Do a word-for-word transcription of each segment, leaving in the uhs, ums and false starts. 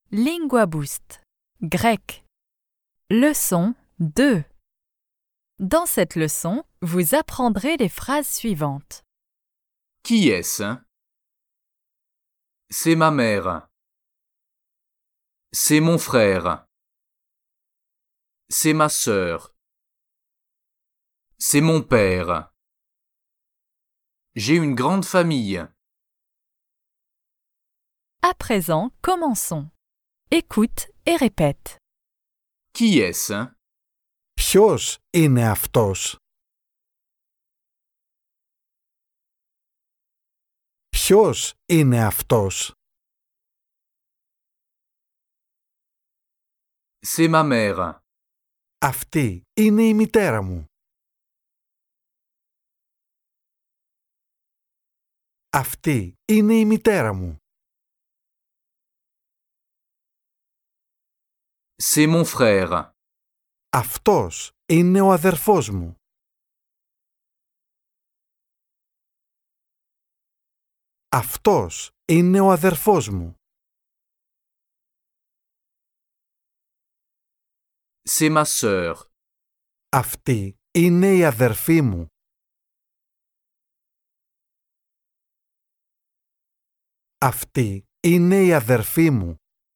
Lingua Boost. Grec. Leçon deux. Dans cette leçon, vous apprendrez les phrases suivantes. Qui est-ce? C'est ma mère. C'est mon frère. C'est ma sœur. C'est mon père. J'ai une grande famille. À présent, commençons. Écoute et répète. Qui est-ce? Ποιος είναι αυτός? Ποιος είναι αυτός? C'est ma mère. Αυτή είναι η μητέρα μου. Αυτή είναι η μητέρα μου. C'est mon frère. Αυτός είναι ο αδερφός μου. Αυτός είναι ο αδερφός μου. C'est ma sœur. Αυτή είναι η αδερφή μου. Αυτή είναι η αδερφή μου.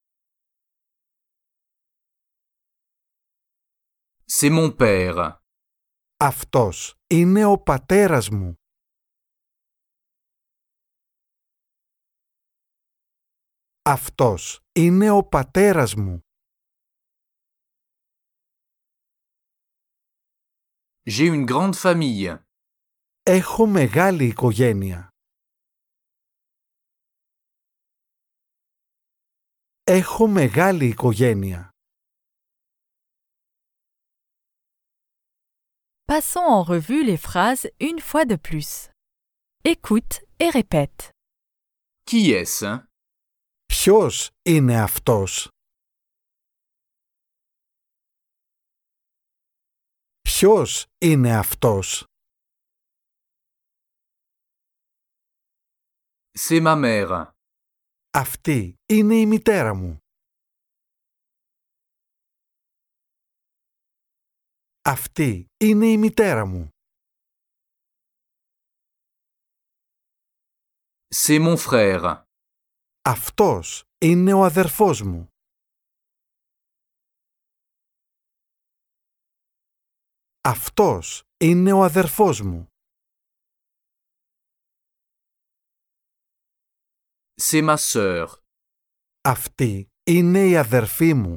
C'est mon père. Αυτός είναι ο πατέρας μου. Αυτός είναι ο πατέρας μου. J'ai une grande famille. Έχω μεγάλη οικογένεια. Έχω μεγάλη οικογένεια. Passons en revue les phrases une fois de plus. Écoute et répète. Qui est-ce? Ποιος είναι αυτός? Ποιος είναι αυτός? C'est ma mère. Αυτή είναι η μητέρα μου. Αυτή είναι η μητέρα μου. C'est mon frère. Αυτός είναι ο αδερφός μου. Αυτός είναι ο αδερφός μου. C'est ma sœur. Αυτή είναι η αδερφή μου.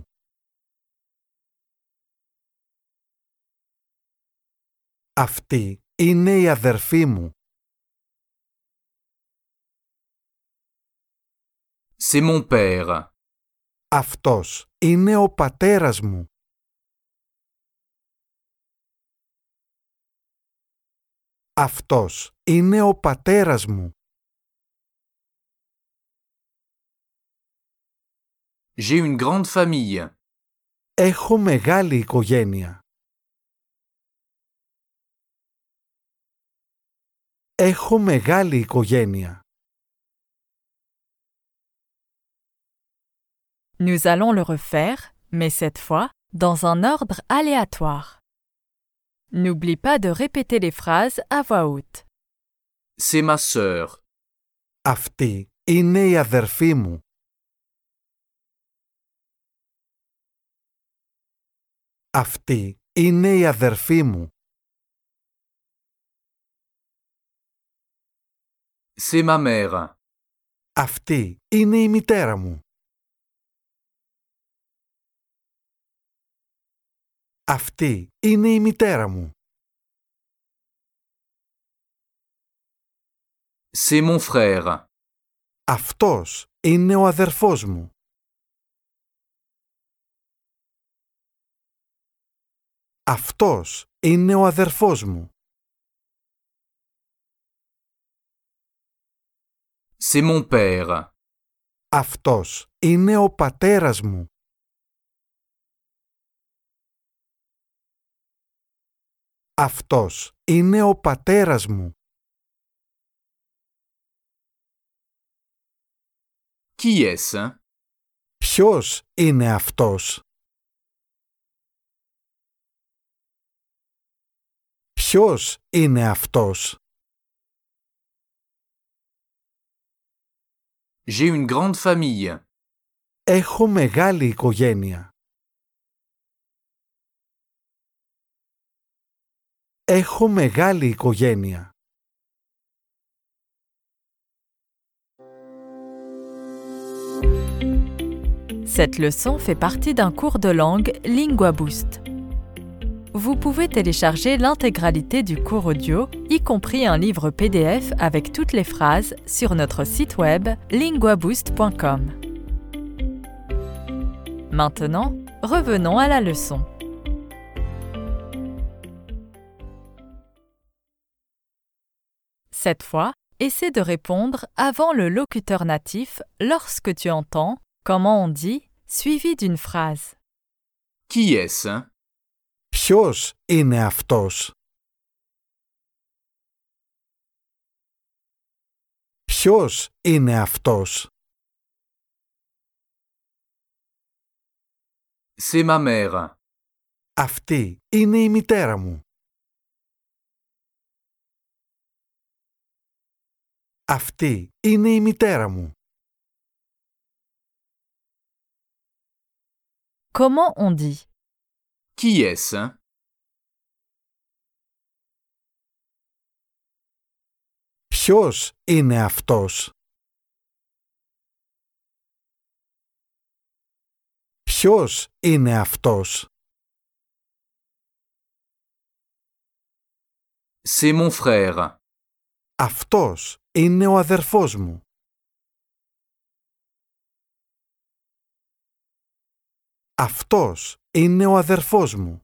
Αυτή είναι η αδερφή μου. C'est mon père. Αυτός είναι ο πατέρας μου. Αυτός είναι ο πατέρας μου. J'ai une grande famille. Έχω μεγάλη οικογένεια. Έχω μεγάλη οικογένεια. Nous allons le refaire, mais cette fois, dans un ordre aléatoire. N'oublie pas de répéter les phrases à voix haute. C'est ma sœur. Αυτή είναι η αδερφή μου. Αυτή είναι η αδερφή μου. C'est ma mère. Αυτή είναι η μητέρα μου. Αυτή είναι η μητέρα μου. C'est mon frère. Αυτός είναι ο αδερφός μου. Αυτός είναι ο αδερφός μου. C'est mon père. Αυτός είναι ο πατέρας μου. Αυτός είναι ο πατέρας μου. Qui est-ce? Ποιος είναι αυτός? Ποιος είναι αυτός? J'ai une grande famille. Έχω μεγάλη οικογένεια. Έχω μεγάλη οικογένεια. Cette leçon fait partie d'un cours de langue LinguaBoost. Vous pouvez télécharger l'intégralité du cours audio, y compris un livre P D F avec toutes les phrases, sur notre site web linguaboost point com. Maintenant, revenons à la leçon. Cette fois, essaie de répondre avant le locuteur natif lorsque tu entends « comment on dit » suivi d'une phrase. Qui est-ce? Ποιος είναι αυτός? Ποιος είναι αυτός? C'est ma mère. Αυτή είναι η μητέρα μου. Αυτή είναι η μητέρα μου. Comment on dit? Qui est-ce? Ποιος είναι αυτός? Ποιος είναι αυτός? C'est mon frère. Αυτός είναι ο αδερφός μου. Αυτός είναι ο αδερφός μου.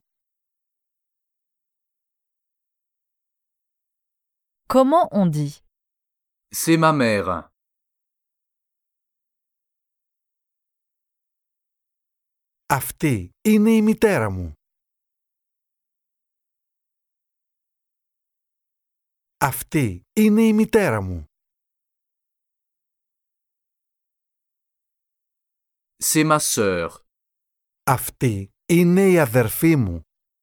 Comment on dit? C'est ma mère. Αυτή είναι η μητέρα μου. Αυτή είναι η μητέρα μου. C'est ma sœur. Αυτή είναι η αδερφή μου.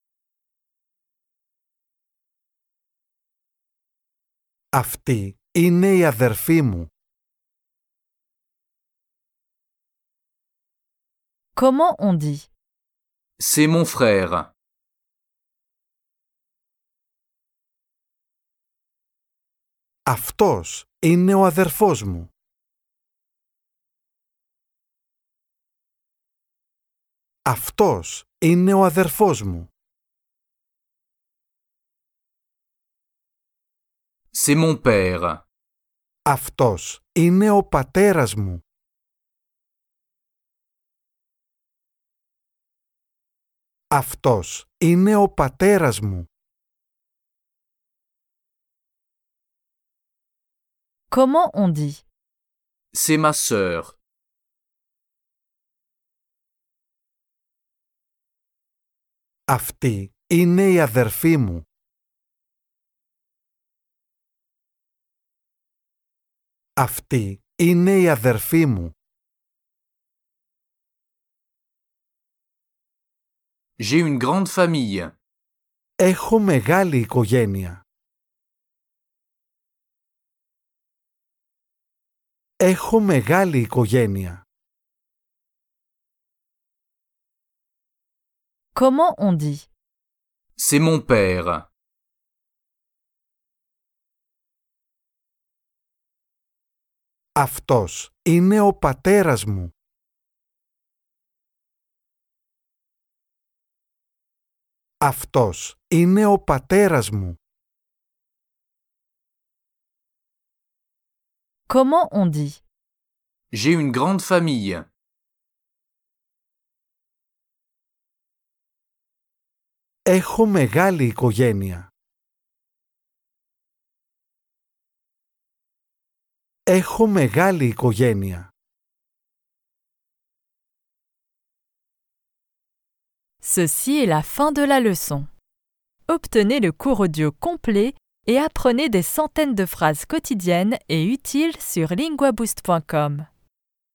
Αυτή είναι η αδερφή μου. Comment on dit? C'est mon frère. Αυτός είναι ο αδερφός μου. Αυτός είναι ο αδερφός μου. C'est mon père. Αυτός είναι ο πατέρας μου. Αυτός είναι ο πατέρας μου. Comment on dit? C'est ma sœur. Αυτή είναι η αδερφή μου. Αυτή είναι η αδερφή μου. J'ai une grande famille. Έχω μεγάλη οικογένεια. Έχω μεγάλη οικογένεια. Comment on dit? C'est mon père. Αυτός είναι ο πατέρας μου. Αυτός είναι ο πατέρας μου. Comment on dit? J'ai une grande famille. Έχω μεγάλη οικογένεια. Έχω μεγάλη οικογένεια. Ceci est la fin de la leçon. Obtenez le cours audio complet et apprenez des centaines de phrases quotidiennes et utiles sur linguaboost point com.